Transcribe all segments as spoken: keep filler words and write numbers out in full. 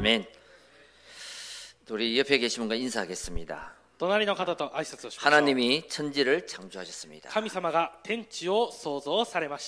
아멘. 우리 옆에 계신 분과 인사하겠습니다. 隣の方と挨拶をしましょう。 하나님이 천지를 창조하셨습니다. 神様が天地を創造されました。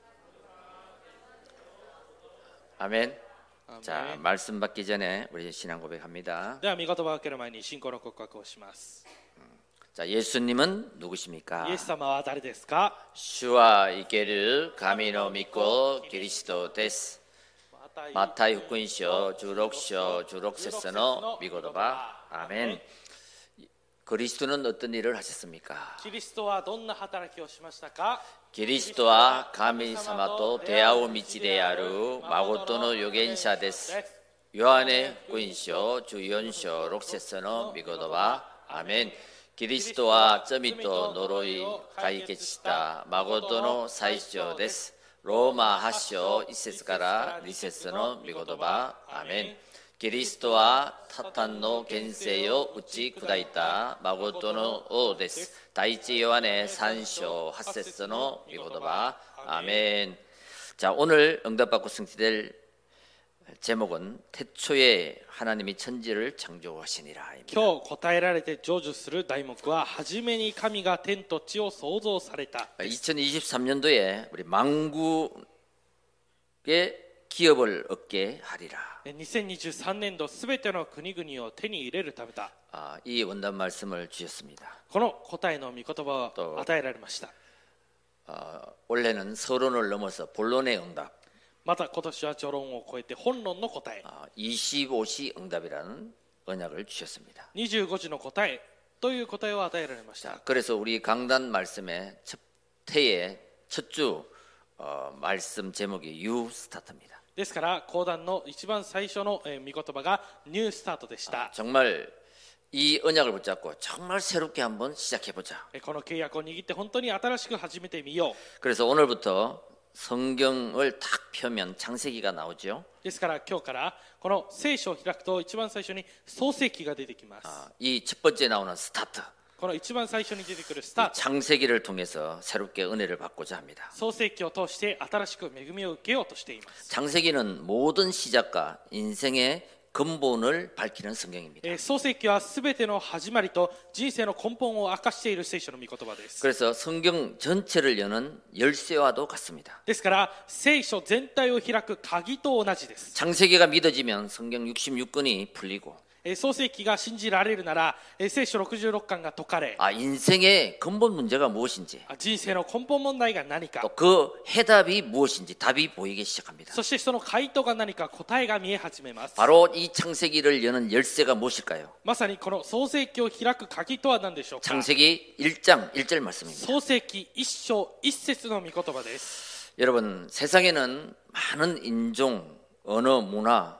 아멘. 아멘. 자, 말씀 받기 전에 우리 신앙 고백합니다. では御言葉を受ける前に信仰の告白をします。 자, 예수님은 누구십니까? イエス様は誰ですか？ 주와 이케르 가미노 믿고 그리스도 데스. 마타이 후쿠인쇼 주록쇼 주록세서노 미고도바. 아멘. 그리스도는 어떤 일을 하셨습니까? キリストはどんな働きをしましたか？ 그리스도와 가미사마도 대하오 미치데아루 마고토노 요겐샤 데스. 요한의 후쿠인쇼 주연쇼 록세서노 미고도바. 아멘. 그리스도와 점이또 노로이 가이케치다 마고토노 사이쇼 데스. 로마 하쇼 이세스가라 리세스노 미고도바. 아멘. 그리스도와 타탄노 겐세요 우치 쿠다이타 마고토노 오 데스. 다이치 요한의 산쇼 하세스노 미고도바. 아멘. 자, 오늘 응답받고 승리될 제목은 태초에 하나님이 천지를 창조하시니라. 今日答えられて成就する題目は、初めに神が天と地を創造された。 이천이십삼 년도에 우리 망국의 기업을 얻게 하리라. にせんにじゅうさんねん度すべての国々を手に入れるためだ。 아, 이 원단 말씀을 주셨습니다. この答えの御言葉を与えられました。 어, 원래는 서론을 넘어서 본론의 응답, また今年は序論を超えて本論の答え、 어, 이십오 시 응답이라는 언약을 주셨습니다. にじゅうごじの答えという答えを与えられました。 자, 그래서 우리 강단 말씀의 첫 태의 첫주 어, 말씀 제목이 You Start입니다. ですから講談の一番最初のえー御言葉がニュースタートでし 아, た。 정말 이 언약을 붙잡고 정말 새롭게 한번 시작해보자. えーこの契約を握って本当に新しく始めてみよう。 그래서 오늘부터 성경을 탁 펴면 창세기가 나오죠. ですから今日からこの聖書を開くと一番最初に創世記が出てきます。 아, 이 첫 번째 나오는 스타트, この一番最初に出てくるスタート、 창세기를 통해서 새롭게 은혜를 받고자 합니다. 創世記を通して新しく恵みを受けようとしています。 창세기는 모든 시작과 인생의 근본을 밝히는 성경입니다. えー創世記はすべての始まりと人生の根本を明かしている聖書の御言葉です。 그래서 성경 전체를 여는 열쇠와도 같습니다. ですから聖書全体を開く鍵と同じです。 창세기가 믿어지면 성경 육십육 권이 풀리고, えー創世記が信じられるなら、えー聖書ろくじゅうろっかんが解かれ、 아, 인생의 근본 문제가 무엇인지, あ人生の根本問題が何か、 또 그 해답이 무엇인지 답이 보이기 시작합니다. そしてその回答が何か、答えが見え始めます。 바로 이 창세기를 여는 열쇠가 무엇일까요? まさにこの創世記を開く鍵とは何でしょうか。 창세기 일 장 일 절 말씀입니다. 創世記一章一節の御言葉です。 여러분, 세상에는 많은 인종, 언어, 문화,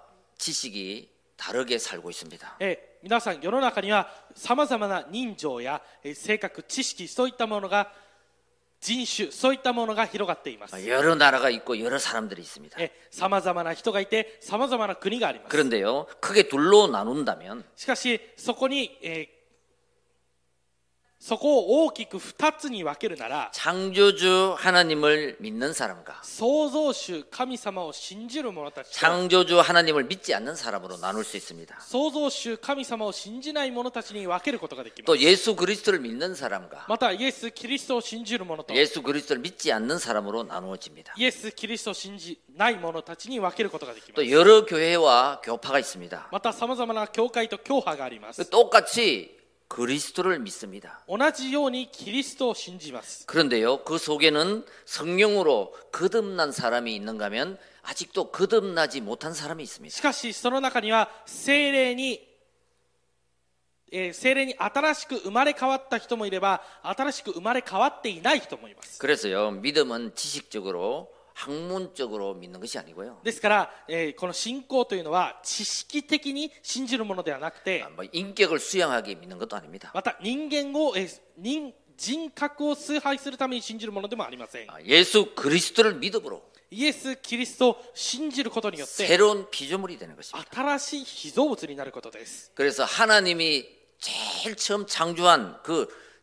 지식이 다르게 살고 있습니다. えー皆さん世の中にはさまざまな人情や、えー性格、知識、そういったものが、人種、そういったものが広がっています。 여러 나라가 있고 여러 사람들이 있습니다. さまざまな人がいてさまざまな国があります。 그런데요, 크게 둘로 나눈다면 しかしそこに、えーそこを大きくふたつに分けるなら、 창조주 하나님을 믿는 사람과 創造主神様を信じる者たちと、 창조주 하나님을 믿지 않는 사람으로 나눌 수 있습니다. 創造主神様を信じない者たちに分けることができます。 또 예수 그리스도를 믿는 사람과 またイエス・キリストを信じる者と、 예수 그리스도를 믿지 않는 사람으로 나누어집니다. イエス・キリストを信じない者たちに分けることができます。 또 여러 교회와 교파가 있습니다. またさまざまな教会と教派があります。 똑같이 그리스도를 믿습니다. 同じようにキリストを信じます。 그런데요, 그 속에는 성령으로 거듭난 사람이 있는가 하면 아직도 거듭나지 못한 사람이 있습니다. しかしその中には聖霊に、えー聖霊に新しく生まれ変わった人もいれば、新しく生まれ変わっていない人もいます。 그래서요, 믿음은 지식적으로 학문적으로 믿는 것이 아니고요. ですから、えーこの信仰というのは知識的に信じるものではなくて、 아, 뭐 인격을 수양하게 믿는 것도 아닙니다. また人間を、えー人人格を崇拝するために信じるものでもありません。 아, 예수 그리스도를 믿음으로 イエス・キリストを信じることによって 새로운 피조물이 되는 것입니다. 新しい被造物になることです。 그래서 하나님이 제일 처음 창조한 그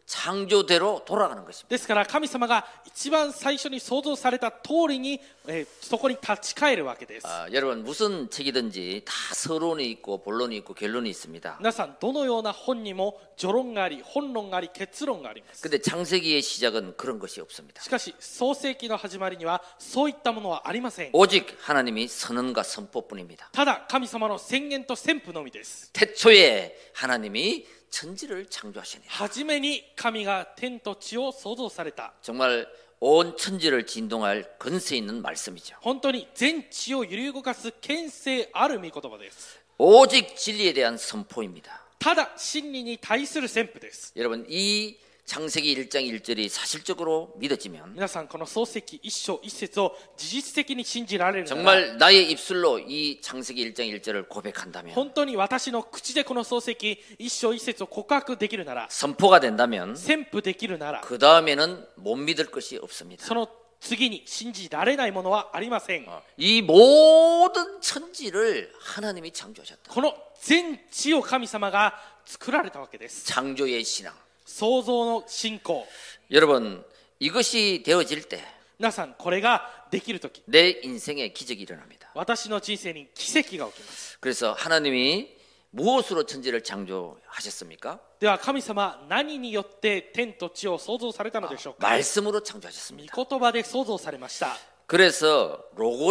창조대로 돌아가는 것입니다. ですから神様が一番最初に創造された通りに、えーそこに立ち返るわけです。 아, 여러분 무슨 책이든지 다 서론이 있고 본론이 있고 결론이 있습니다. 皆さんどのような本にも序論があり本論があり結論があります。 근데 창세기의 시작은 그런 것이 없습니다. しかし創世記の始まりにはそういったものはありません。 오직 하나님이 선언과 선포뿐입니다. ただ神様の宣言と宣布のみです。 태초에 하나님이 천지를 창조하시니 初めに神が天と地を創造された。 정말 온 천지를 진동할 근세 있는 말씀이죠. 本当に全地を揺り動かす権勢ある御言葉です。 오직 진리에 대한 선포입니다. ただ真理に対する宣布です。 여러분 이 창세기 일 장 일 절이 사실적으로 믿어지면 皆さんこの創世記一章一節を事実的に信じられるなら 정말 나의 입술로 이 창세기 일 장 일 절을 고백한다면 本当に私の口でこの創世記一章一節を告白できるなら 선포가 된다면 宣布できるなら 그 다음에는 못 믿을 것이 없습니다. その次に信じられないものはありません。 이 모든 천지를 하나님이 창조하셨다. この全地を神様が作られたわけです。 창조의 신앙. 創造の信仰。 여러분 이것이 되어질 때 皆さんこれができるとき 내 인생에 기적이 일어납니다. 私の人生に奇跡が起きます。 그래서 하나님이 무엇으로 천지를 창조하셨습니까? では神様何によって天と地を創造されたのでしょうか。 말씀으로 창조하셨습니다. 御言葉で創造されました。 그래서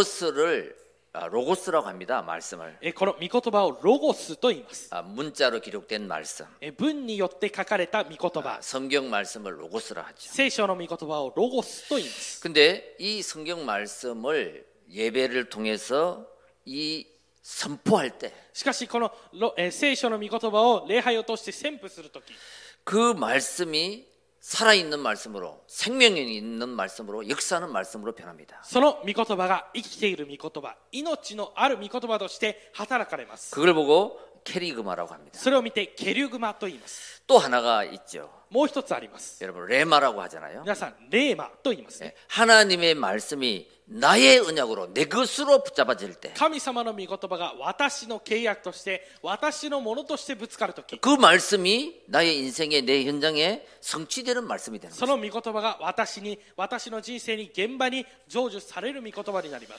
로고스를 아, 로고스라고 합니다. 말씀을 えこの御言葉をロゴスと言います。 아, 문자로 기록된 말씀. え文によって書かれた御言葉 아, 。 성경 말씀을 로고스라 하죠. 聖書の御言葉をロゴスと言います。 근데 이 성경 말씀을 예배를 통해서 이 선포할 때 しかしこのロえ聖書の御言葉を礼拝を通して宣布するとき、 그 말씀이 살아있는 말씀으로 생명이 있는 말씀으로 역사하는 말씀으로 변합니다. その御言葉が生きている御言葉、命のある御言葉として働かれます。 그걸 보고 캐리그마라고 합니다. それを見てケリュグマと言います。 또 하나가 있죠. もう一つあります。 여러분 레마라고 하잖아요. 皆さんレーマと言いますね。 하나님의 말씀이 나의 언약으로 내 것으로 붙잡아질 때 그 神様の御言葉が私の契約として私のものとしてぶつかるとき、 말씀이 나의 인생에 내 현장에 성취되는 말씀이 되는 そ 거죠. の御言葉が私に私の人生に現場に成就される御言葉になります。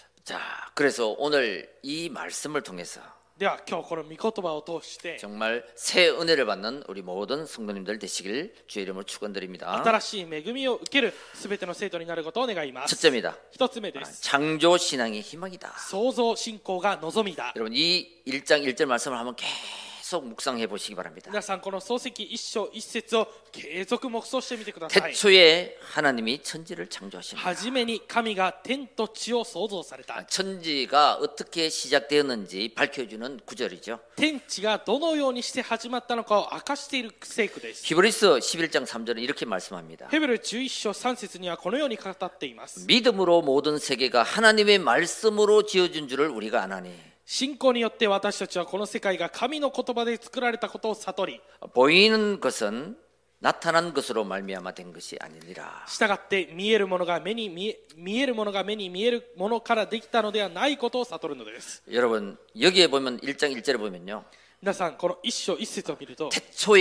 자, 그래서 오늘 이 말씀을 통해서 では今日この御言葉を通して 정말 새 은혜를 받는 우리 모든 성도님들 되시길 주의 이름으로 축원드립니다. 新しい恵みを受けるすべての生徒になることを願います。 첫째입니다. 一つ目です。 창조 신앙의 희망이다. 創造信仰が望みだ。 여러분 이 일 장 일 절 말씀을 한번 계속 묵상해 보시기 바랍니다. 皆さんこの創世記一章一節を継続黙想してみてください。 태초에 하나님이 천지를 창조하십니다. 初めに神が天と地を創造された。 천지가 어떻게 시작되었는지 밝혀주는 구절이죠. 天地がどのようにして始まったのかを明かしている聖句です。 히브리서 십일 장 삼 절은 이렇게 말씀합니다. ヘブルじゅういっ章さん節にはこのように語っています。 믿음으로 모든 세계가 하나님의 말씀으로 지어진 줄을 우리가 아나니 信仰によって私たちはこの世界が神の言葉で作られたことを悟り、 보이는 것은 나타난 것으로 말미암아 된 것이 아니니라. 従って見えるものが目に見え、見えるものが目に見えるものからできたのではないことを悟るのです。 여러분 여기에 보면 일 장 일 절에 보면요. 皆さんこの一章一節を見ると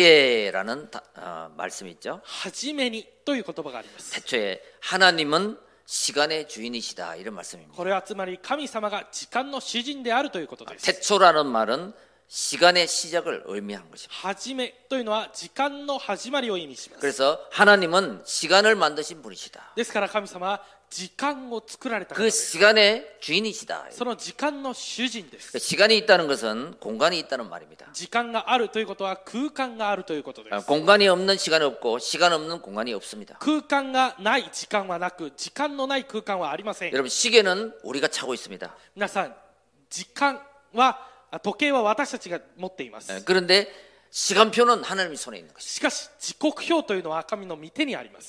태초에라는 다, 어, 말씀이 있죠. 初めにという言葉があります。 태초에 하나님은 시간의 주인이시다 이런 말씀입니다. これはつまり神様が時間の主人であるということです。 태초라는 말은 시간의 시작을 의미하는 것입니다. 初めというのは時間の始まりを意味します。 그래서 하나님은 시간을 만드신 분이시다. ですから神様は時間を作られた方 그 です。 시간의 주인이시다. その時間の主人です。 시간이 있다는 것은 공간이 있다는 말입니다. 時間があるということは空間があるということで 아, す。 공간이 없는 시간이 없고 시간 없는 공간이 없습니다. 空間がない時間はなく、時間のない空間はありません。 여러분 시계는 우리가 차고 있습니다. 皆さん、時間はあ時計は私たちが持っています。 예, 그런데 시간표는 하나님의 손에 있는 것입니다. しかし時刻表というのは神の御手にあります。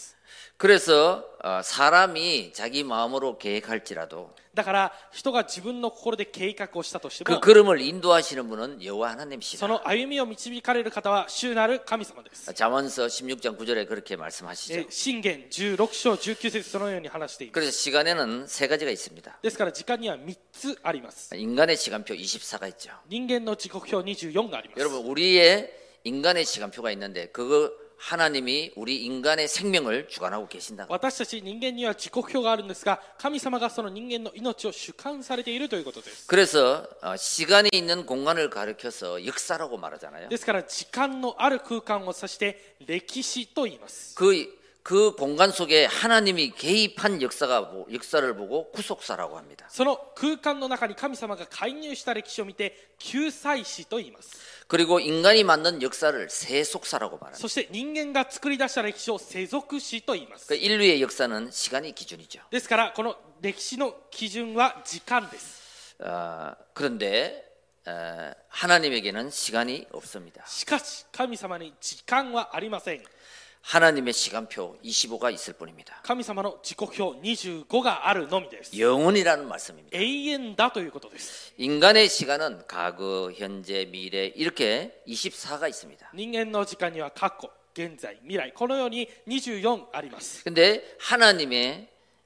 그래서 어, 사람이 자기 마음으로 계획할지라도 だから人が自分の心で計画をしたとして 그 も、 걸음을 인도하시는 분은 여호와 하나님이시다. その歩みを導かれる方は主なる神様です。 잠언서 십육 장 구 절에 그렇게 말씀하시죠. え箴言じゅうろく章じゅうきゅう節そのように話しています。 그래서 시간에는 세 가지가 있습니다. ですから時間にはみっつあります。 인간의 시간표 이십사가 있죠. 人間の時刻表にじゅうよんがあります。 여러분 우리의 인간의 시간표가 있는데 그거 하나님이 우리 인간의 생명을 주관하고 계신다. 私たち人間には時刻表があるんですが、神様がその人間の命を主管されているということです。 그래서 어, 시간이 있는 공간을 가리켜서 역사라고 말하잖아요. ですから時間のある空間を指して歴史と言います。 그, 그 공간 속에 하나님이 개입한 역사가 역사를 보고 구속사라고 합니다. その空間の中に神様が介入した歴史を見て救済史と言います。 그리고 인간이 만든 역사를 세속사라고 말합니다. そして人間が作り出した歴史を世俗史と言います。 그 인류의 역사는 시간이 기준이죠. ですからこの歴史の基準は時間です。 어, 그런데 어, 하나님에게는 시간이 없습니다. しかし神様に時間はありません。 하나님의 시간표 이십오가 있을 뿐입니다. 神様の時刻表にじゅうごがあるのみです。 영원이라는 말씀입니다. 永遠だということです。 인간의 시간은 과거, 현재, 미래 이렇게 이십사가 있습니다. 人間の時間には過去、現在、未来、このようににじゅうよんあります。 근데 하나님의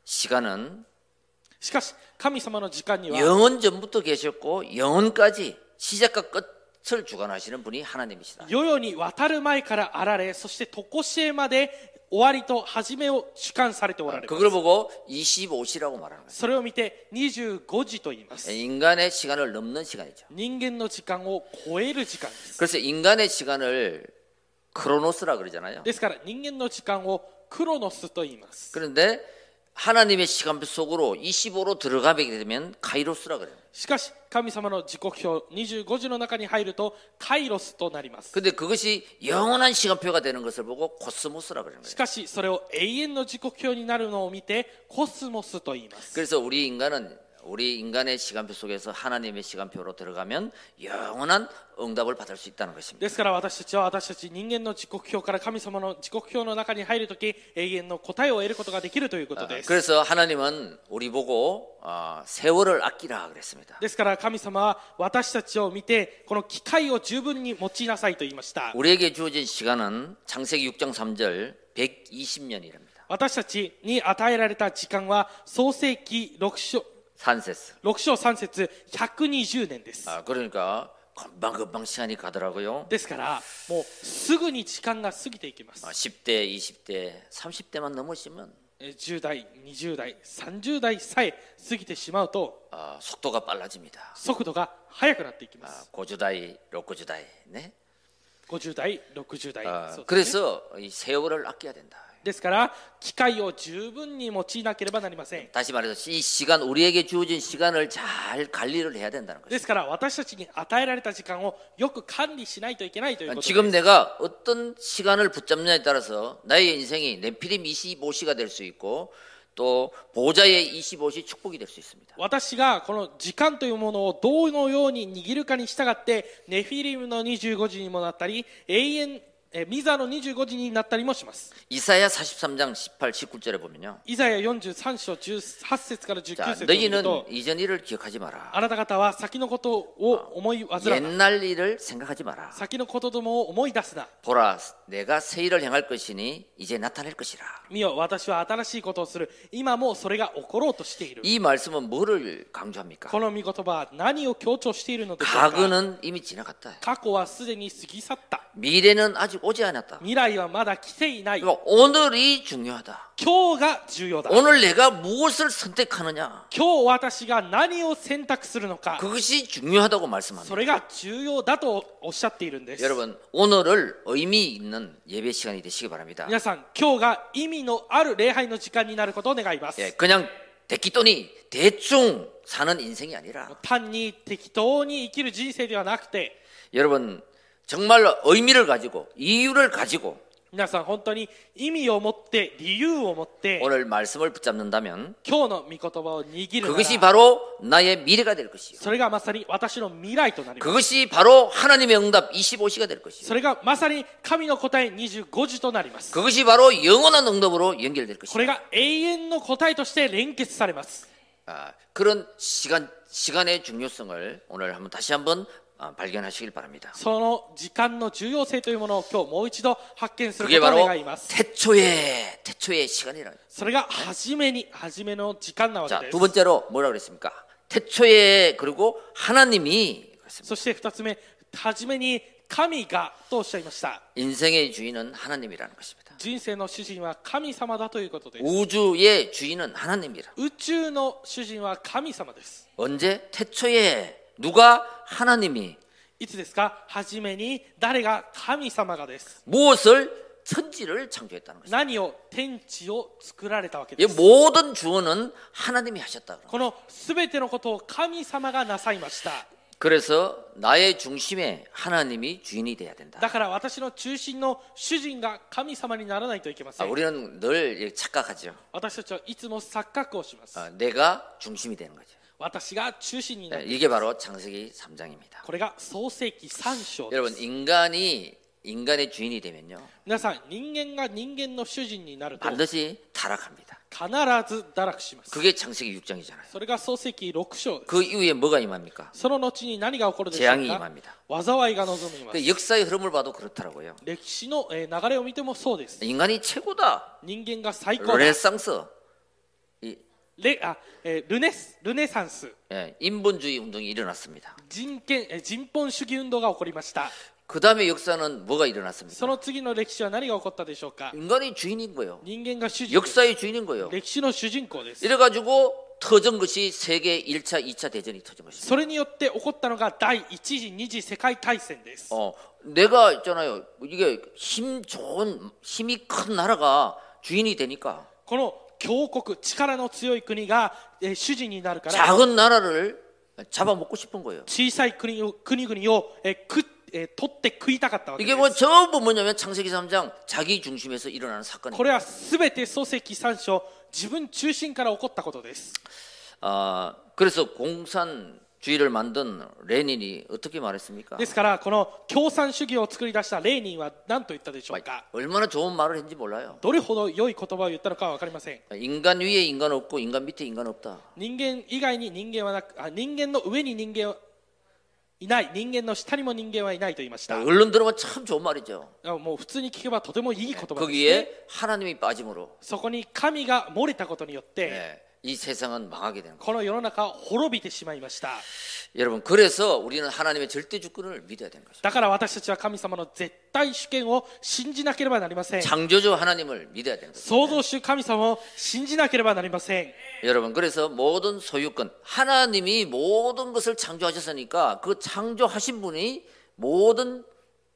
시간은 しかし神様の時間には 영원 전부터 계셨고 영원까지 시작과 끝을 주관하시는 분이 하나님이시다. 世々に渡る前からあられ、そして常しえまで終わりと始めを主管されておられます。 그걸 보고 이십오시라고 말하는 거예요. それを見てにじゅうごじと言います。 인간의 시간을 넘는 시간이죠. 人間の時間を超える時間です。 그래서 인간의 시간을 크로노스라 그러잖아요. ですから人間の時間をクロノスと言います。 그런데 하나님의 시간표 속으로 이십오로 들어가게 되면 카이로스라 그래요. しかし神様の時刻表にじゅうごじの中に入るとカイロスとなります。 근데 그것이 영원한 시간표가 되는 것을 보고 코스모스라 그러는 し 거예요. かしそれを永遠の時刻表になるのを見てコスモスと言います。 그래서 우리 인간은 우리 인간의 시간표 속에서 하나님의 시간표로 들어가면 영원한 응답을 받을 수 있다는 것입니다. ですから私たちは私たち人間の時刻表から神様の時刻表の中に入るとき永遠の答えを得ることができるということです。 그래서 하나님은 우리 보고 어, 세월을 아끼라 그랬습니다. ですから神様は私たちを見てこの機会を十分に用いなさいと言いました。 우리에게 주어진 시간은 창세기 육 장 삼 절 백이십 년이랍니다. 私たちに与えられた時間は創世記ろく章 산세스. ろく章さん節ひゃくにじゅうねんです。 아, 그러니까 금방금방 시간이 가더라고요. ですからもうすぐに時間が過ぎていきます。 아, 십 대, 이십 대, 삼십 대만 넘으시면 じゅう代、にじゅう代、さんじゅう代さえ過ぎてしまうと 아, 속도가 빨라집니다. 速度が速くなっていきま 아, す。 고주다이, 로고주다이. 네. ごじゅう代、ろくじゅう代、 아, そうですね。 그래서 이 세월을 아껴야 된다. ですから機会を十分に用いなければなりません。 다시 말해서 이 시간 우리에게 주어진 시간을 잘 관리를 해야 된다는 거죠. ですから私たちに与えられた時間をよく管理しないといけないということです。 지금 내가 어떤 시간을 붙잡느냐에 따라서 나의 인생이 네피림 이십오 시가 될 수 있고 또 보좌의 이십오 시 축복이 될 수 있습니다. 私がこの時間というものをどのように握るかに従ってネフィリムのにじゅうごじにもなったり永遠えミザのにじゅうごじになったりもします。 이사야 사십삼 장 십팔, 십구 절에 보면요. イザヤよんじゅうさん章じゅうはち節からじゅうきゅう 자, 節を見る 너희는 と 이전 일을 기억하지 마라. あなた方は先のことを思い煩うな 옛날 일을 생각하지 마라. 先のことどもを思い出すな 보라, 내가 새 일을 행할 것이니 이제 나타낼 것이라. 見よ私は新しいことをする今もうそれが起ころうとしている 이 말씀은 뭐를 강조합니까? この御言葉は何を強調しているのでしょうか 과거는 이미 지나갔다. 過去はすでに過ぎ去った 미래는 아직 오지 않았다. 未来はまだ来ていない 그러니까 오늘이 중요하다. 今日が重要だ 오늘 내가 무엇을 선택하느냐. 今日私が何を選択するのか 그것이 중요하다고 そ 말씀합니다. れが重要だとおっしゃっているんです 여러분, 오늘을 의미 있는 예배 시간이 되시기 바랍니다. 皆さん今日が意味のある礼拝の時間になることを願います 예, 그냥 대기돈이 대충 사는 인생이 아니라 単に適当に生きる人生ではなくて 여러분 정말로 의미를 가지고 이유를 가지고 皆さん本当に意味を持って理由を持って 오늘 말씀을 붙잡는다면 今日の御言葉を握るな 그것이 ら 바로 나의 미래가 될 것이요. それがまさに私の未来となります 그것이 바로 하나님의 응답 이십오 시가 될 것이요. それがまさに神の答えにじゅうごじとなります 그것이 바로 영원한 응답으로 연결될 これ 것이요. が永遠の答えとして連結されます 아, 그런 시간 시간의 중요성을 오늘 한번 다시 한번 아, 발견하시길 바랍니다. その時間の重要性というものを今日もう一度発見するこ 그게 とを 바로 願います 태초의 태초의 시간이라. それが初めに初めの時間なわけ 자, です 두 번째로 뭐라 그랬습니까? 태초에 그리고 하나님이 그랬습니다. そして二つ目初めに神がとおっしゃいました。 인생의 주인은 하나님이라는 것입니다. 人生の主人は神様だということです。 우주의 주인은 하나님이라. 宇宙の主人は神様です。 언제? 태초에 누가? 하나님이 いつですか？初めに誰が？神様がです。 무엇을? 천지를 창조했다는 것입니다. 何を？天地を作られたわけ 이 です。 모든 주어는 하나님이 하셨다. このすべてのことを神様がなさいました。 그래서 나의 중심에 하나님이 주인이 돼야 된다. だから私の中心の主人が神様にならないといけませ 아, ん。 우리는 늘 착각하죠. 私たちはいつも錯覚をします。 아, 내가 중심이 되는 거죠. 私が中心にな 네, る。 이게 바로 창세기 삼 장입니다. これが創世記さん章で 여러분 す。 인간이 인간의 주인이 되면요 皆さん、人間が人間の主人になると必 반드시 타락합니다. ず堕落します。 그게 창세기 육 장이잖아요. それが創世記ろく章です。 그 이후에 뭐가 임합니까? その後に何が起こるでしょう 재앙이 か？ 임합니다. 災いが望みます。 그 역사의 흐름을 봐도 그렇더라고요. 歴史のえー流れを見てもそうです。 인간이 최고다. 人間が最高だ。 르네상스. 이, レあえールネスルネサンス 예, 인본주의 운동이 일어났습니다. 人権えー人本主義運動が起こりました。 그 다음에 역사는 뭐가 일어났습니까? その次の歴史は何が起こったでしょうか？ 인간이 주인인 거예요. 人間が主人です。 역사의 주인인 거예요. 歴史の主人公です。 이래가지고 터진 것이 세계 일 차, 이 차 대전이 터진 것입니다. それによって起こったのが第一次二次世界大戦です。 어, 내가 있잖아요. 이게 힘 좋은 힘이 큰 나라가 주인이 되니까 この強国力の強い国がえー主人になるから 작은 나라를 잡아먹고 싶은 거예요. 小さい国を国々をえー食っえー取って食いたかったわけで 이게 뭐 す。 전부 뭐냐면 창세기 삼 장 자기 중심에서 일어나는 こ 사건입니다. れはすべて創世記さん章自分中心から起こったことです。 아, 그래서 공산주의를 만든 레닌이 어떻게 말했습니까? ですからこの共産主義を作り出したレーニンは何と言ったでしょうか？ 얼마나 좋은 말을 했는지 몰라요. どれほど良い言葉を言ったのかは分かりません。 인간 위에 인간 없고 인간 밑에 인간 없다. 人間以外に人間はなく、あ人間の上に人間はいない、人間の下にも人間はいないと言いました。 언론 들으면 참 좋은 말이죠. もう普通に聞けばとてもいい言葉ですね。 거기에 하나님이 빠짐으로 そこに神が漏れたことによって、 네, 이 세상은 망하게 되는 거예요. この世の中は滅びてしまいました。 여러분 그래서 우리는 하나님의 절대 주권을 믿어야 되는 것입니다. だから私たちは神様の絶対主権を信じなければなりません。 창조주 하나님을 믿어야 되는 것입니다. 創造主神様を信じなければなりません。 여러분 그래서 모든 소유권 하나님이 모든 것을 창조하셨으니까 그 창조하신 분이 모든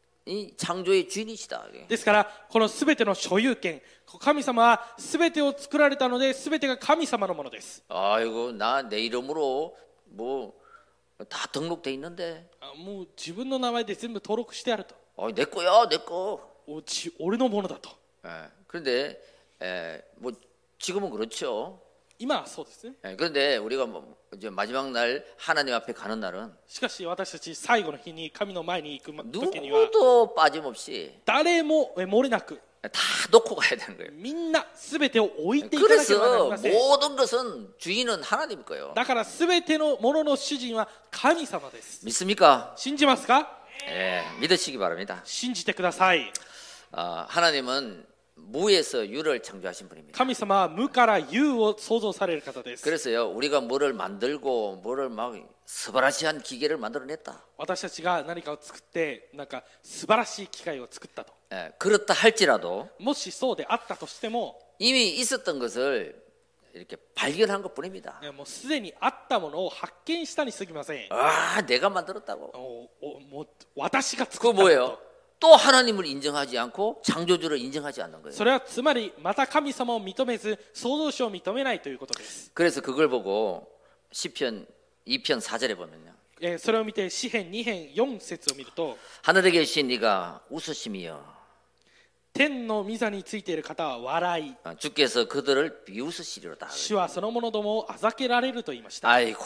이 창조의 주인이시다. ですからこのすべての所有権、神様はすべてを作られたので、すべてが神様のものです。 아이고 나 내 이름으로 뭐 다 등록돼 있는데 あもう自分の名前で全部登録してあると。 어, 내 거야 내 거. おち俺のものだと。 예, 그런데 에, 뭐 지금은 그렇죠. 今はそうですね。 예, 그런데 우리가 뭐 이제 마지막 날 하나님 앞에 가는 날은 しかし私たち最後の日に神の前に行く時には 누구도 빠짐없이 誰もえ漏れなく 다 놓고 가야 되는 거예요. みんなすべてを置いていかなければなり 그래서 ません。 모든 것은 주인은 하나님 거예요. だからすべてのものの主人は神様です。 믿습니까? 信じますか？ 예, 믿으시기 바랍니다. 信じてください。 아, 하나님은 무에서 유를 창조하신 분입니다. 神様は無から有を創造される方です。 그래서요 우리가 뭐를 만들고 뭐를 막 스바라시한 기계를 만들어냈다. 私たちが何かを作ってなんか素晴らしい機械を作ったと。 예, 그렇다 할지라도 もしそうであったとしても、 이미 있었던 것을 이렇게 발견한 것뿐입니다. もうすでにあったものを発見したに過ぎません。 아, 내가 만들었다고. おおもう私が 그 作った 뭐예요? と。 또 하나님을 인정하지 않고 창조주를 인정하지 않는 거예요. それはつまりまた神様を認めず創造主を認めないということです。 그래서 그걸 보고 시편 이 편 사 절에 보면요. えーそれを見て詩編に編よん節を見ると、 하늘에 계신 이가 웃으심이여 天の御座についている方は笑い、 주께서 그들을 비웃으시리로다. 主はその者どもをあざけられると言いました。 아이고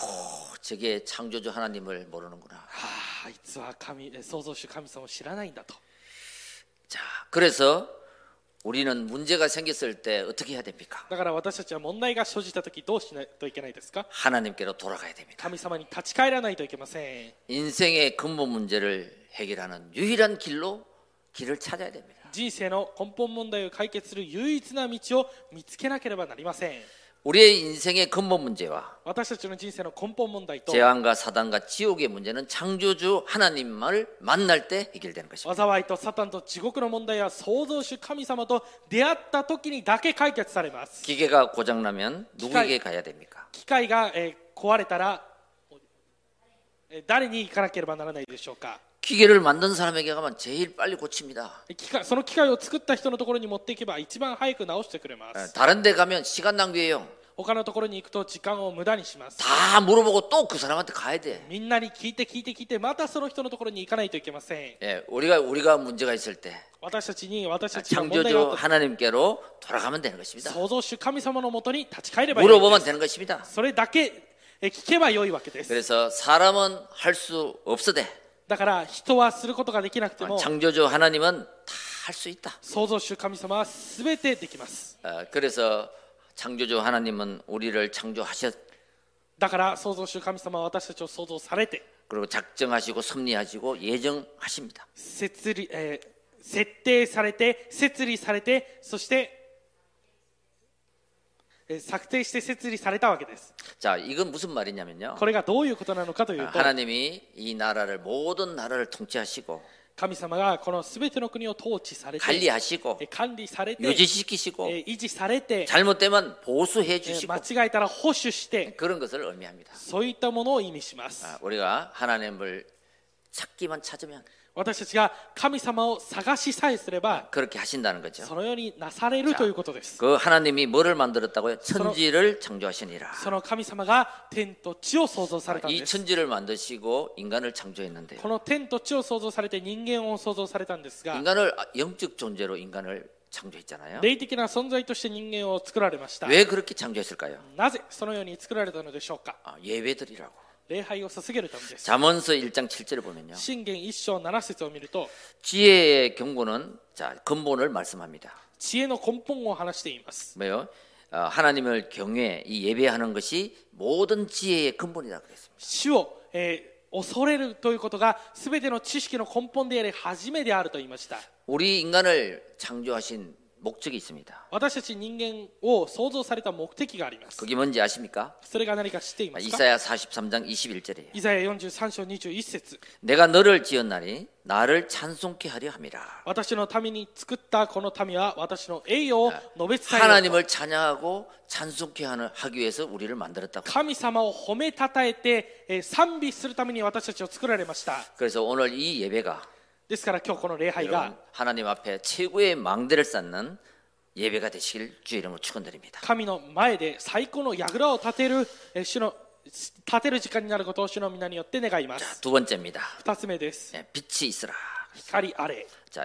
저게 창조주 하나님을 모르는구나. はあ、あいつは神えー創造主神様を知らないんだと。 자, 그래서 우리는 문제가 생겼을 때 어떻게 해야 됩니까? だから私たちは問題が生じたときどうしないといけないですか？ 하나님께로 돌아가야 됩니다. 神様に立ち返らないといけません。 인생의 근본 문제를 해결하는 유일한 길로 길을 찾아야 됩니다. 人生の根本問題を解決する唯一な道を見つけなければなりません。 우리의 인생의 근본 문제와 私たちの人生の根本問題と 재앙과 사단과 지옥의 문제는 창조주 하나님을 만날 때 해결되는 것입니다. 災いとサタンと地獄の問題は創造主神様と出会った時にだけ解決されます。 기계가 고장나면 누구에게 가야 됩니까? 機械が、えー壊れたらえー誰に行かなければならないでしょうか。 기계를 만든 사람에게 가면 제일 빨리 고칩니다. 機械その機械を作った人のところに持っていけば一番早く直してくれま 예, す。 다른 데 가면 시간 낭비예요. 他のところに行くと時間を無駄にします。 다 물어보고 또 그 사람한테 가야 돼. みんなに聞いて聞いて聞いてまたその人のところに行かないといけません。 예, 우리가 우리가 문제가 있을 때 私たちに私たちの問題があ 창조주 った 하나님께로 돌아가면 되는 것입니다. 創造主神様のもとに立ち返ればいいの 물어보면 です。 되는 것입니다. それだけえ聞けばよいわけです。 그래서 사람은 할 수 없으되 だから人はすることができなくても 창조주 하나님은 다 할 수 있다. 創造主神様は全てできます。 어, 그래서 창조주 하나님은 우리를 창조하셨 だから創造主神様は私たちを創造されて 그리고 작정하시고 섭리하시고 예정하십니다. 設立、えー設定されて設立されてそしてえー策定して設立されたわけです。 자, 이건 무슨 말이냐면요. これがどういうことなのかというと 하나님이 이 나라를 모든 나라를 통치하시고 神様がこの全ての国を統治されて 관리하시고 えー管理されて 유지시키시고 えー維持されて 잘못되면 보수해 えー 주시고 間違えたら保守して 그런 것을 의미합니다. そういったものを意味します。 아, 우리가 하나님을 찾기만 찾으면 私たちが神様を探しさえすれば 그렇게 하신다는 거죠. そのようになされるということです。 그 하나님이 뭐를 만들었다고요? 천지를 창조하시니라. その神様が天と地を創造されたん 이 です。 천지를 만드시고 인간을 창조했는데요. この天と地を創造されて人間を創造されたんですが 인간을 영적 존재로 인간을 창조했잖아요. 霊的な存在として人間を作られました。 왜 그렇게 창조했을까요? なぜそのように作られたのでしょうか。 아, 예배드리라고. 礼拝を捧げるためです。 잠언서 일 장 칠 절을 보면요. 箴言一章七節を見ると 지혜의 경고는 자, 근본을 말씀합니다. 知恵の根本を話しています。 뭐요? 어, 하나님을 경외, 이 예배하는 것이 모든 지혜의 근본이라 그랬습니다. 主を、えー恐れるということが全ての知識の根本であり初めであると言いました。 우리 인간을 창조하신 목적이 있습니다. 私たち人間を創造された目的があります。 그게 뭔지 아십니까? それが何か知っていますか。 이사야 사십삼 장 이십일 절이에요. イザヤよんじゅうさん章にじゅういち節 내가 너를 지었나니 나를 찬송케 하려 함이라. 私のために作ったこの民は私の栄誉を述べ伝えようと 하나님을 찬양하고 찬송케 하는 하기 위해서 우리를 만들었다고. 神様を褒めたたえてえー賛美するために私たちを作られました。 그래서 오늘 이 예배가 ですから今日この礼拝 여러분, が 하나님 앞에 최고의 망대를 쌓는 예배가 되시길 주 이름으로 축원드립니다. 神の前で最高の櫓を立てるえー主の立てる時間になることを主の皆によって願います。 두 번째입니다. 二つ目です。 예, 빛이 있으라. 光あれ。 자,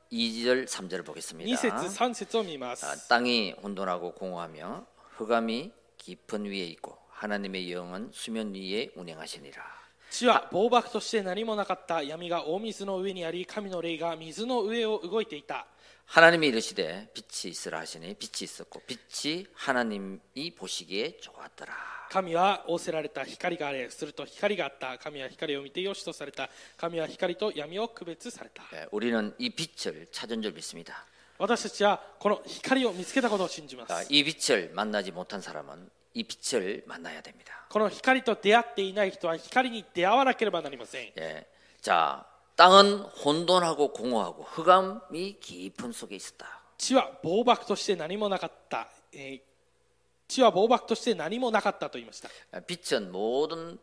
이 절 삼 절을 보겠습니다. に節さん節を見ま 아, す。 땅이 혼돈하고 공허하며 흑암이 깊은 위에 있고 하나님의 영은 수면 위에 운행하시니라. 地は暴漠として何もなかった。闇が大水の上にあり、神の霊が水の上を動いていた。 하나님이 이르시되 빛이 있으라 하시니 빛이 있었고 빛이 하나님이 보시기에 좋았더라. 神は仰せられた。光があれ。すると光があった。神は光を見てよしとされた。神は光と闇を区別された。 예, 우리는 이 빛을 찾은 줄 믿습니다. 私たちはこの光を見つけたことを信じま 아, す。 이 빛을 만나지 못한 사람은 이 빛을 만나야 됩니다. この光と出会っていない人は光に出会わなければなりません。 예, 자, 땅은 혼돈하고 공허하고 흑암이 깊은 속에 있었다. 地は暴漠として何もなかった。えー地は暴漠として何もなかったと言いました。 예, 빛은 모든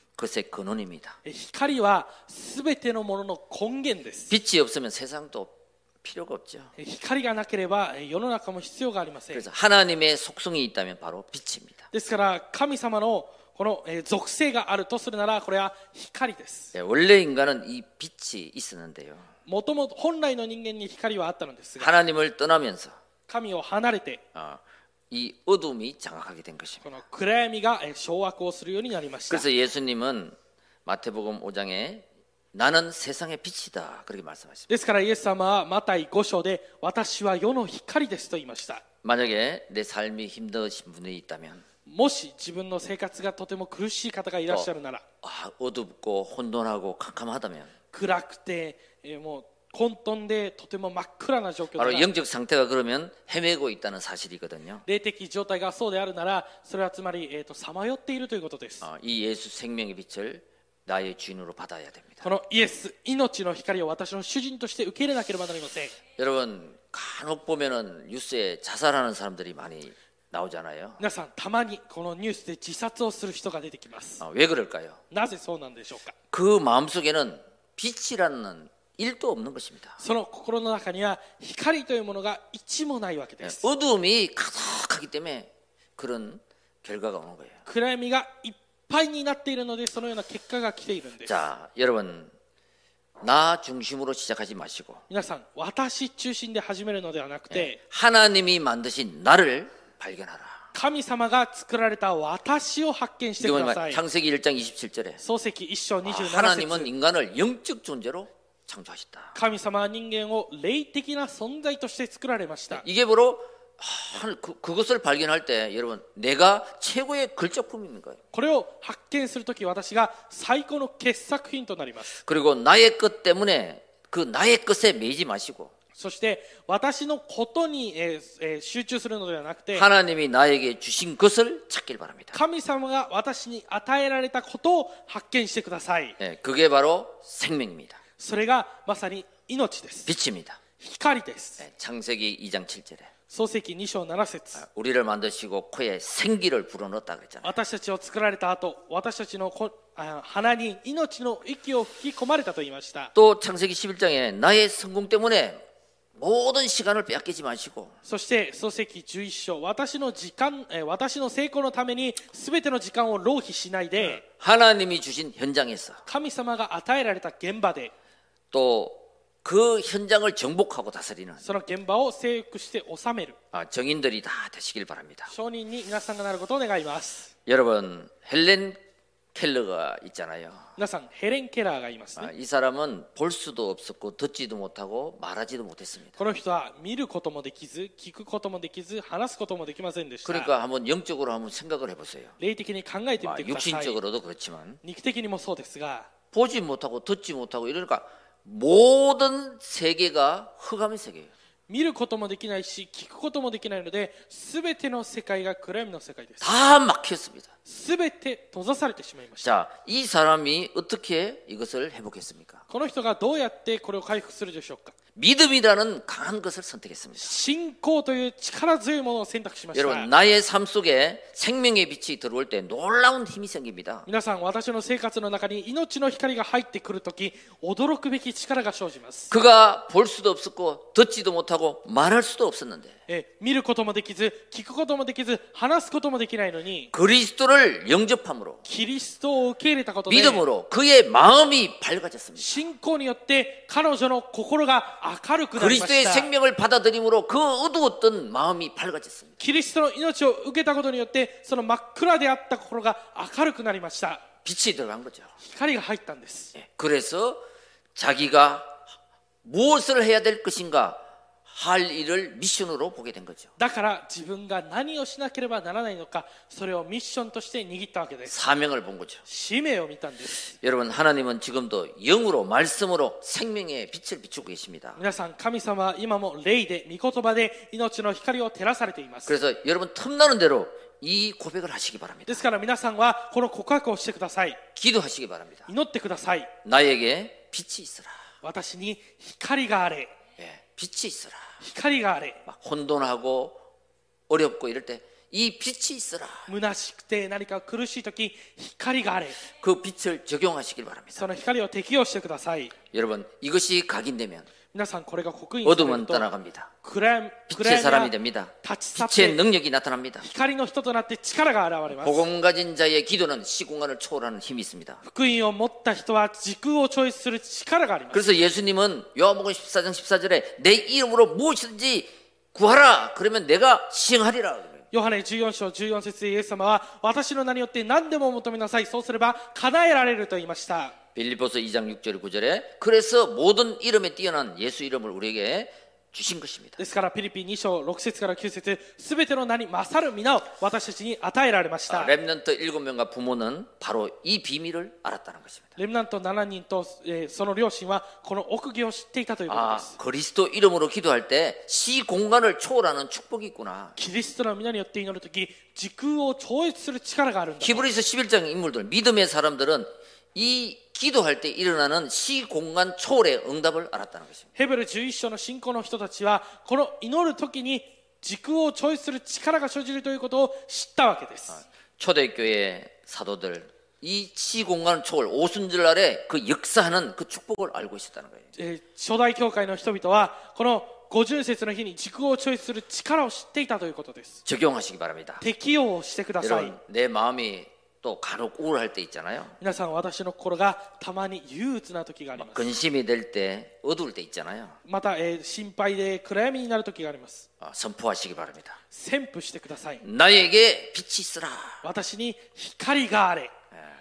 것의 근원입니다. えー光はすべてのものの根源です。 빛이 없으면 세상도 필요가 없죠. えー光がなければえー世の中も必要がありません。 그래서 하나님의 속성이 있다면 바로 빛입니다. ですから神様のこのえー属性があるとするならこれは光です。 예, 원래 인간은 이 빛이 있었는데요. もともと本来の人間に光はあったのですが 하나님을 떠나면서 神を離れて 어, 이 어둠이 장악하게 된 것입니다. この暗闇がえー掌握をするようになりました。 그래서 예수님은 마태복음 오 장에 나는 세상의 빛이다 그렇게 말씀하십니다. ですからイエス様はマタイご章で私は世の光ですと言いました。 만약에 내 삶이 힘드신 분이 있다면 もし自分の生活がとても苦しい方がいらっしゃるなら 아, 어둡고 혼돈하고 캄캄하다면 暗くて、えーもう混沌でとても真っ暗な状況 바로 だ 영적 상태가 그러면 헤매고 있다는 사실이거든요. 霊的状態がそうであるならそれはつまりえーとさまよっているということです 어, 이 예수 생명의 빛을 나의 주인으로 받아야 됩니다. このイエス命の光を私の主人として受け入れなければなりません 여러분 간혹 보면은 뉴스에 자살하는 사람들이 많이 나오잖아요. 皆さんたまにこのニュースで自殺をする人が出てきます 어, 왜 그럴까요? なぜそうなんでしょうか 그 마음속에는 빛이라는 일도 없는 것입니다. その心の中には光というものが一もないわけです 어두움이 가득하기 때문에 그런 결과가 오는 거예요. 暗闇がいっぱいになっているのでそのような結果が来ているんです 자, 여러분 나 중심으로 시작하지 마시고 皆さん私中心で始めるのではなくて 하나님이 만드신 나를 발견하라. 神様が作られた私を発見してく 이건 ださい 창세기 일 장 이십칠 절에 創世記一章二十七 하나님은 節 인간을 영적 존재로 창조하셨다. 神様は人間を霊的な存在として作られました 이게 바로 하, 그, 그것을 발견할 때 여러분 내가 최고의 걸작품인 거예요. これを発見するとき私が最高の傑作品となります 그리고 나의 것 때문에 그 나의 것에 매이지 마시고 そして私のことに、えーえー集中するのではなくて 하나님이 나에게 주신 것을 찾길 바랍니다. 神様が私に与えられたことを発見してください 네, 그게 바로 생명입니다. それがまさに命です 빛입니다. 光です 네, 창세기 이 장 칠 절에 創世記二章七節 우리를 만드시고 코에 생기를 불어넣었다 그랬잖아요. 私たちを作られた後私たちのこあ鼻に命の息を吹き込まれたと言いました 또 창세기 십일 장에 나의 성공 때문에 모든 시간을 빼앗기지 마시고 そして創世記十一章私の時間えー私の成功のために全ての時間を浪費しないで 하나님이 주신 현장에서 神様が与えられた現場で 또 그 현장을 정복하고 다스리는 その現場を征服して治める 아, 정인들이 다 되시길 바랍니다. 証人に皆さんがなることを願います 여러분 헬렌 켈러가 있잖아요. 皆さんヘレン・ケラーがいますね 아, 이 사람은 볼 수도 없었고 듣지도 못하고 말하지도 못했습니다. この人は見ることもできず聞くこともできず話すこともできませんでした 그러니까 한번 영적으로 한번 생각을 해보세요. 霊的に考えてみ 아, てください 육신적으로도 그렇지만 肉的にもそうですが 보지 못하고 듣지 못하고 이러니까 모든 세계가 흑암의 세계예요. 見ることもできないし聞くこともできないので全ての世界が暗闇の世界です 다 막혔습니다. 全て閉ざされてしまいました 자, 이 사람이 어떻게 이것을 회복했습니까? この人がどうやってこれを回復するでしょうか 믿음이라는 강한 것을 선택했습니다. 信仰という力強いものを選択しました 여러분 나의 삶 속에 생명의 빛이 들어올 때 놀라운 힘이 생깁니다. 皆さん私の生活の中に命の光が入ってくるとき驚くべき力が生じます 그가 볼 수도 없었고 듣지도 못하고 말할 수도 없었는데 え見ることもできず聞くこともできず話すこともできないのに 그리스도를 영접함으로 キリストを受け入れたことで 믿음으로 그의 마음이 밝아졌습니다. 信仰によって彼女の心が明るくなりま 그리스도의 した 생명을 받아들임으로 그 어두웠던 마음이 밝아졌습니다. キリストの命を受けたことによってその真っ暗であった心が明るくなりました 빛이 들어간 거죠. 光が入ったんです 예, 그래서 자기가 무엇을 해야 될 것인가 할 일을 미션으로 보게 된 거죠. だから自分が何をしなければならないのかそれをミッションとして握ったわけです 사명을 본 거죠. 使命を見たんです 여러분 하나님은 지금도 영으로 말씀으로 생명의 빛을 비추고 계십니다. 皆さん神様は今も霊で御言葉で命の光を照らされています 그래서 여러분 틈나는 대로 이 고백을 하시기 바랍니다. ですから皆さんはこの告白をしてください 기도하시기 바랍니다. 祈ってください 나에게 빛이 있으라. 私に光があれ 예, 빛이 있으라. 光があれ 막 혼돈하고 어렵고 이럴 때 이 빛이 있으라. 虚しくて何か苦しい時光があれ 그 빛을 적용하시길 바랍니다. その光を適用してください 여러분 이것이 각인되면 皆さんこれが刻印される 어둠은 と 떠나갑니다. 暗闇 빛의 暗 사람이 闇が 됩니다. 立ち去っ 빛의 て 능력이 나타납니다. 光の人となって力が現れます 복음 가진 자의 기도는 시공간을 초월하는 힘이 있습니다. 福音を持った人は時空を超越する力があります 그래서 예수님은 요한복음 십사 장 십사 절에 내 이름으로 무엇이든지 구하라. 그러면 내가 시행하리라. ヨハネじゅうよん章じゅうよん節でイエス様は私の名によって何でも求めなさいそうすれば叶えられると言いました 빌립보서 이 장 육 절 구 절에 그래서 모든 이름에 뛰어난 예수 이름을 우리에게 주신 것입니다. ですからピリピに章ろく節からきゅう節、すべての名に勝る皆を私たちに与えられました。 렘넌트 일곱 명과 부모는 바로 이 비밀을 알았다는 것입니다. レムナントななにんと、えーその両親はこの奥義を知っていたということで 아, す。 그리스도 이름으로 기도할 때 시 공간을 초월하는 축복이 있구나. キリストの皆によって祈るとき、時空を超越する力があるんだ。 히브리서 십일 장 인물들, 믿음의 사람들은 이 기도할 때 일어나는 시 공간 초월의 응답을 알았다는 것입니다. ヘブルじゅういち章の信仰の人たちはこの祈るときに時空を超越する力が生じるということを知ったわけです。 초대교회 사도들 이 시 공간 초월 오순절날에 그 역사하는 그 축복을 알고 있었다는 거예요. えー初代教会の人々はこの五巡節の日に時空を超越する力を知っていたということです。 적용하시기 바랍니다. 適用をしてください。 여러분, 내 마음이 또 간혹 우울할 때 있잖아요. 皆さん、私の心がたまに憂鬱な時があります。 근심이 될 때, 어두울 때 있잖아요. また、えー心配で暗闇になる時があります。 아, 선포하시기 바랍니다. 宣布してください。 나에게 빛이 있으라. 私に光があれ。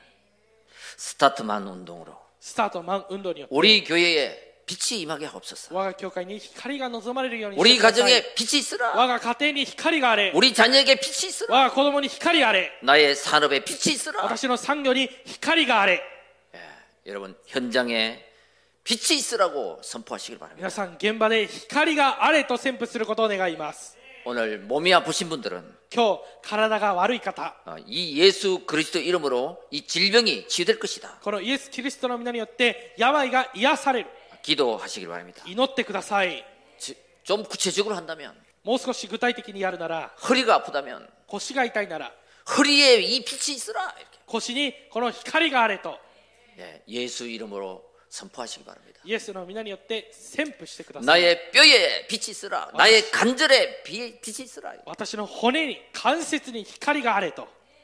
스타트만 운동으로 スタートマン運動によって 우리 교회에 빛이 임하게 하옵소서. 我が教会に光が望まれるようにして 우리 ください。 가정에 빛이 있으라. 我が家庭に光があれ。 우리 자녀에게 빛이 있으라. 我が子供に光あれ。 나의 산업에 빛이 있으라. 私の産業に光があれ。 예, 여러분 현장에 빛이 있으라고 선포하시길 바랍니다. 皆さん、現場で光があれと宣布することを願います。 오늘 몸이 아프신 분들은 今日、体が悪い方、 어, 이 예수 그리스도 이름으로 이 질병이 치유될 것이다. このイエス・キリストの皆によって病が癒される。 기도하시길 바랍니다. 祈ってください。 지- 좀 구체적으로 한다면 もう少し具体的にやるなら、 허리가 아프다면 腰が痛いなら、 허리에 이 빛이 있으라. 이렇게. 腰にこの光があれと、 예, 예수 이름으로 선포하시기 바랍니다. イエスの皆によって宣布してください。 나의 뼈에 빛이 있으라. 나의 관절에 비- 빛이 있으라. 私の骨に、関節に光があれと、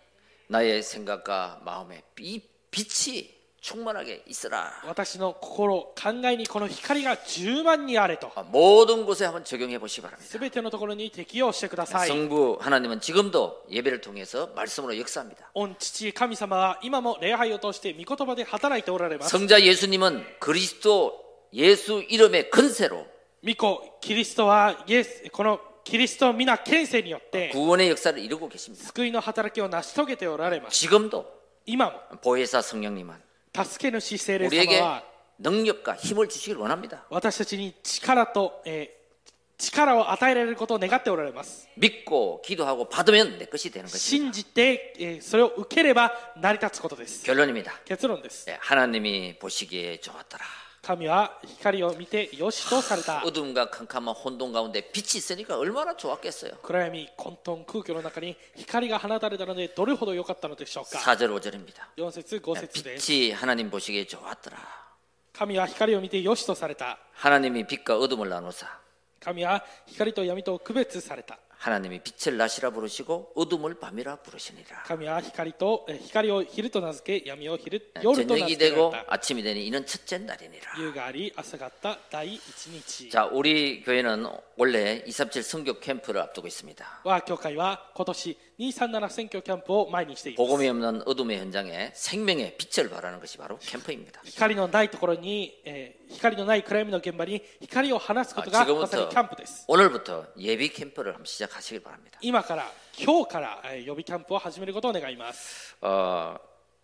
나의 생각과 마음에 이 빛이 충만하게 있으라. 私の心、考えにこの光が十万にあれと、 아, 모든 곳에 한번 적용해 보시기 바랍니다. すべてのところに適用してください。 성부 하나님은 지금도 예배를 통해서 말씀으로 역사합니다. 御父神様は今も礼拝を通して御言葉で働いておられます。 성자 예수님은 그리스도 예수 이름의 근세로 御子キリストはイエス、このキリスト皆権勢によって 구원의 역사를 이루고 계십니다. 救いの働きを成し遂げておられます。 지금도 今も 보혜사 성령님은 助け主聖霊様 우리에게 は 능력과 힘을 주시길 원합니다. 私たちに力と、えー力を与えられることを願っておられます。 믿고 기도하고 받으면 내 것이 되는 것입니다. 信じて、えーそれを受ければ成り立つことです。 결론입니다. 結論です。 예, 하나님이 보시기에 좋았더라. 神は光を見てよしとされた。 어둠과 캄캄한 혼돈 가운데 빛이 있으니까 얼마나 좋았겠어요. 暗闇混沌空虚の中に光が放たれたのでどれほど良かったのでしょうか。 사 절 오 절입니다. よん節ご節です。 빛이 하나님 보시기에 좋았더라. 神は光を見てよしとされた。 하나님이 빛과 어둠을 나누사 神は光と闇と区別された。 하나님이 빛을 낮이라 부르시고 어둠을 밤이라 부르시니라. 神は光とえ光を昼と名付け、闇を昼夜と名 저녁이 付けられ 되고 た。 아침이 되니 이는 첫째 날이니라. 夕があり朝があった第一日。 자, 우리 교회는 원래 이삼칠 선교 캠프를 앞두고 있습니다. 我が教会は今年にさんなな選挙キャンプを前にしています。 복음이 없는 어둠의 현장에 생명의 빛을 발하는 것이 바로 캠프입니다. 光のないところに、えー光のない暗闇の現場に光を放すことが 아, まさに 지금부터 キャンプです。 오늘부터 예비 캠프를 한번 시작하시길 바랍니다. 今から今日からえー予備キャンプを始めることを願います。 어,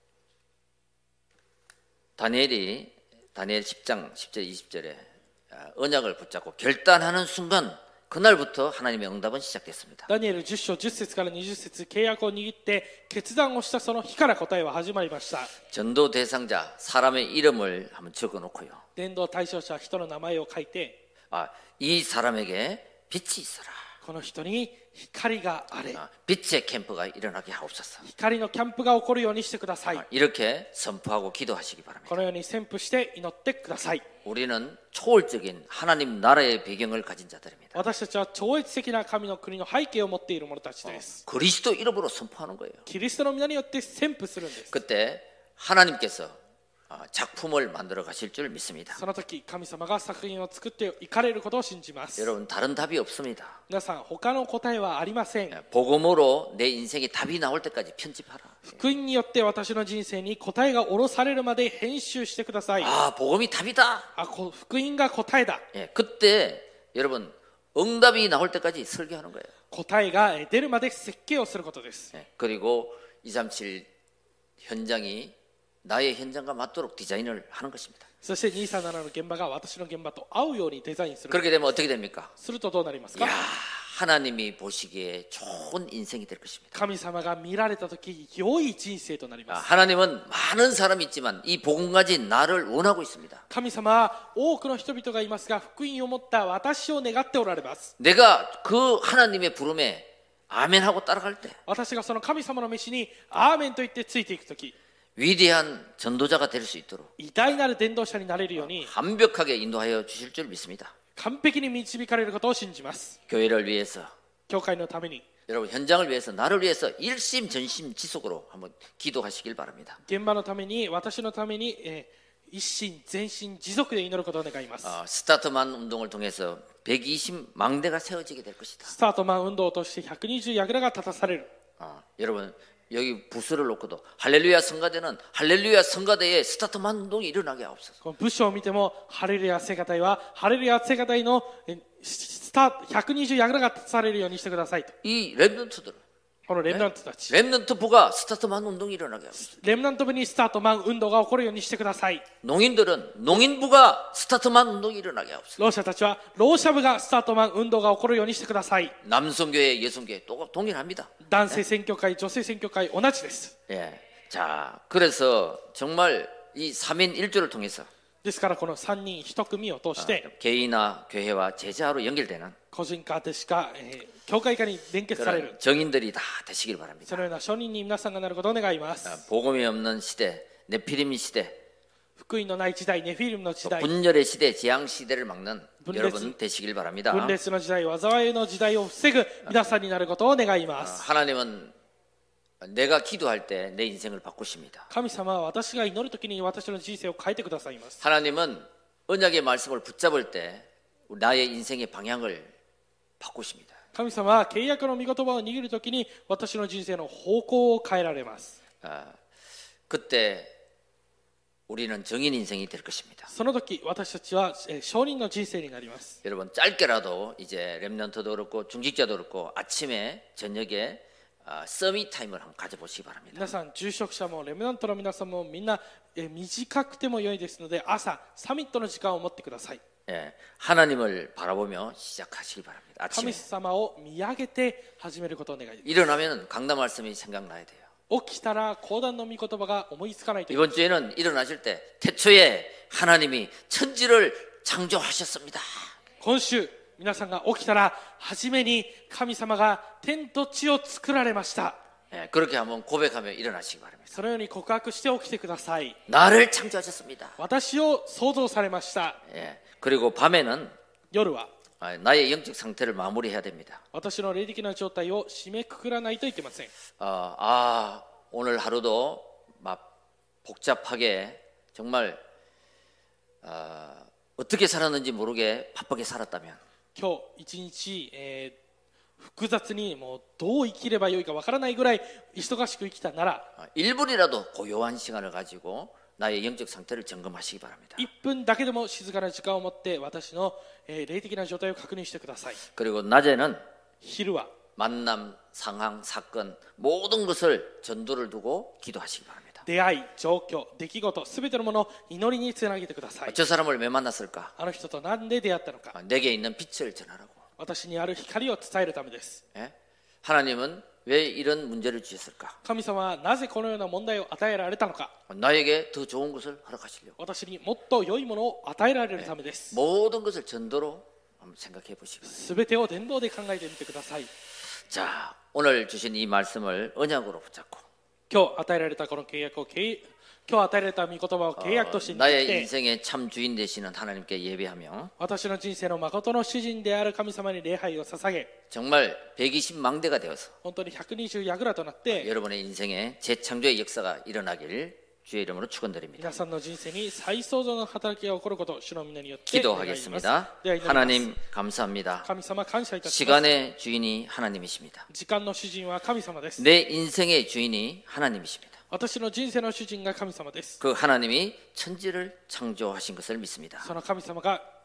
다니엘이 다니엘 십 장 십 절 이십 절에 언약을 붙잡고 결단하는 순간 그날부터 하나님의 응답은 시작됐습니다. ダニエルじゅっ章じゅっ節からにじゅっ節、契約を握って決断をしたその日から答えは始まりました。 전도 대상자 사람의 이름을 한번 적어 놓고요. 伝道対象者人の名前を書いて、 아, 이 사람에게 빛이 있어라. この人に光があれ、 아, 빛의 캠프가 일어나게 하옵소서. 光のキャンプが起こるようにしてください。 아, 이렇게 선포하고 기도하시기 바랍니다. このように宣布して祈ってください。 우리는 초월적인 하나님 나라의 배경을 가진 자들입니다. 私たちは超越的な神の国の背景を持っている者たちです。 그리스도 이름으로 선포하는 거예요. キリストの皆によって宣布するんです。 그때 하나님께서 아, 작품을 만들어 가실 줄 믿습니다. その時神様が作品を作っていかれることを信じます。 여러분 다른 답이 없습니다. 皆さん他の答えはありません。 복음으로 내 인생에 답이 나올 때까지 편집하라. 福音によって私の人生に答えが下ろされるまで編集してください。 아, 복음이 답이다. あ、こ福音が答えだ。 예, 그때 여러분 응답이 나올 때까지 설계하는 거예요. 答えがえー出るまで設計をすることです。 예, 그리고 이백삼십칠 현장이 나의 현장과 맞도록 디자인을 하는 것입니다. そしてにひゃくさんじゅうななの現場が私の現場と合うようにデザインする。 그렇게 되면 어떻게 됩니까? するとどうなります 야, か？ 하나님이 보시기에 좋은 인생이 될 것입니다. 神様が見られたとき良い人生となり 아, ます。 하나님은 많은 사람이 있지만 이 복음 가진 나를 원하고 있습니다. 神様は多くの人々がいますが、福音を持った私を願っておられます。 내가 그 하나님의 부름에 아멘하고 따라갈 때 私がその神様の召しにアーメンと言ってついていくとき、 위대한 전도자가 될 수 있도록 偉大なる伝道者になれるように 완벽하게 인도하여 주실 줄 믿습니다. 完璧に導かれることを信じます。 교회를 위해서, 教会のために、 여러분 현장을 위해서, 나를 위해서 일심전심지속으로 한번 기도하시길 바랍니다. 現場のために、私のために、えー一心全身持続で祈ることを願います。 어, 스타트만 운동을 통해서 백이십 망대가 세워지게 될 것이다. スタートマン運動を通してひゃくにじゅう櫓が立たされる。 어, 여러분 여기 부스를 놓고도 할렐루야 성가대는 할렐루야 성가대에 스타트만 운동이 일어나게 하옵소서. この部署を見ても、ハレルヤ聖歌隊はハレルヤ聖歌隊のえスタひゃくにじゅう櫓が立たされるようにしてくださいと。 이 렘넌트들은 このレムナントたち、 렘넌트부가 스타트만 운동이 일어나게 하옵소서. レムナント部にスタートマン運動が起こるようにしてください。 농인들은 농인부가 스타트만 운동이 일어나게 하옵소서. 労者たちは労者部がスタートマン運動が起こるようにしてください。 남성교회, 여성교회 또 동일합니다. 男性選挙会、女性選挙会同じです。 예. 자, 그래서 정말 이 삼인 일조를 통해서 ですからこのさんにんいち組を通して、 개인화 교회와 제자로 연결되는 個人化でしか、えー教会化に連結される 그런 정인들이 다 되시길 바랍니다. そのような証人に皆さんがなることを願います。 복음이 없는 시대, 네피림 시대, 福音のない時代、ネフィリムの時代、 분열의 시대, 재앙 시대를 막는 분裂- 여러분 되시길 바랍니다. 分裂の時代、災いの時代を防ぐ皆さんになることを願いま 어, す。 하나님은 내가 기도할 때 내 인생을 바꾸십니다. 神様は私が祈るときに私の人生を変えてくださいます。 하나님은 언약의 말씀을 붙잡을 때 나의 인생의 방향을 바꾸십니다. 神様は契約の御言葉を握るときに私の人生の方向を変えられます。 아, 그때 우리는 정인 인생이 될 것입니다. その時私たちはえー証人の人生になります。 여러분 짧게라도 이제 렘넌트도 그렇고 중직자도 그렇고 아침에 저녁에 아, 서밋 타임을 한번 가져보시기 바랍니다. 皆さん、住職者もレムナントの皆さんもみんなえー短くても良いですので、朝サミットの時間を持ってください。 예, 하나님을 바라보며 시작하시기 바랍니다. 神 아침에 様を見上げて始めることを願います。 일어나면 강단 말씀이 생각나야 돼요. 起きたら講談の御言葉が思いつかないといけない。 이번 주에는 일어나실 때 태초에 하나님이 천지를 창조하셨습니다. 今週皆さんが起きたら初めに神様が天と地を作られました。 예, 그렇게 한번 고백하며 일어나시기 바랍니다. そのように告白して起きてください。 나를 창조하셨습니다. 私を創造されました。 예, 그리고 밤에는 夜は 아, 나의 영적 상태를 마무리해야 됩니다. 私の霊的な状態を締めくくらないといけません。 어, 아, 오늘 하루도 막 복잡하게 정말 어, 어떻게 살았는지 모르게 바쁘게 살았다면 今日一日、えー複雑にもうどう生きればよいかわからないぐらい忙しく生きたなら 어, 일 분이라도 고요한 시간을 가지고 나의 영적 상태를 점검하시기 바랍니다. いっぷんだけでも静かな時間を持って私の、えー霊的な状態を確認してください。 그리고 낮에는 昼は 만남, 상황, 사건 모든 것을 전도를 두고 기도하시기 바랍니다. 出会い、状況、出来事、すべてのものを祈りにつなげてください。 저 사람을 왜 만났을까? あの人と何で出会ったのか、 아, 내게 있는 빛을 전하라고. 私にある光を伝えるためです。 예? 하나님은 왜 이런 문제를 주셨을까? 神様はなぜこのような問題を与えられたのか、 나에게 더 좋은 것을 허락하시려고. 私にもっと良いものを与えられるためです。 모든 것을 전도로 한번 생각해 보시기 바랍니다. すべてを伝道で考えてみてください。 자, 오늘 주신 이 말씀을 언약으로 붙잡고 今日与えられたこの契約を契今日与えられた御言葉を契約として 어, 握っ 나의 て、 인생의 참 주인 되시는 하나님께 예배하며 私の人生の誠の主人である神様に礼拝を捧げ、 정말 백이십 망대가 되어서 本当にひゃくにじゅう櫓となって、 여러분의 인생에 재창조의 역사가 일어나길 주의 이름으로 축원드립니다. 皆さんの人生に再創造の働きが起こることを主の皆によって願います。 기도하겠습니다. では祈ります。 하나님 감사합니다. 神様感謝いたします。 시간의 주인이 하나님이십니다. 時間の主人は神様です。 내 인생의 주인이 하나님이십니다. 私の人生の主人が神様です。 그 하나님이 천지를 창조하신 것을 믿습니다. その神様が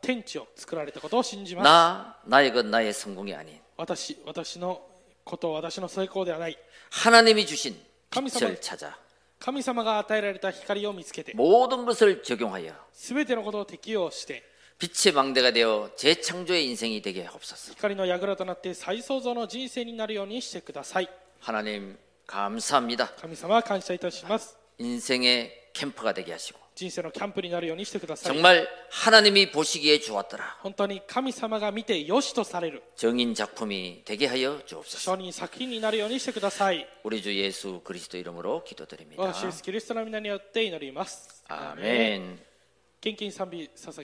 天地を作られたことを信じます。 나, 나의 것, 나의 성공이 아닌 私、私のこと、私の成功ではない。 하나님이 주신 감히 빛을 찾아 神様が与えられた光を見つけて、 모든 것을 적용하여 すべてのことを適用して、 빛의 망대가 되어 재창조의 인생이 되게 하옵소서. 光の櫓となって再創造の人生になるようにしてください。 하나님 감사합니다. 神様は感謝いたします。 인생의 캠프가 되게 하시고 人生のキャンプになるようにしてください。 정말 하나님이 보시기에 좋았더라. 本当に神様が見て良しとされる 정인 작품이 되게 하여 주옵소서. 書人作品になるようにしてください。 우리 주 예수 그리스도 이름으로 기도드립니다. 私イエスキリストの皆によって祈ります。 아멘. 献金賛美捧げ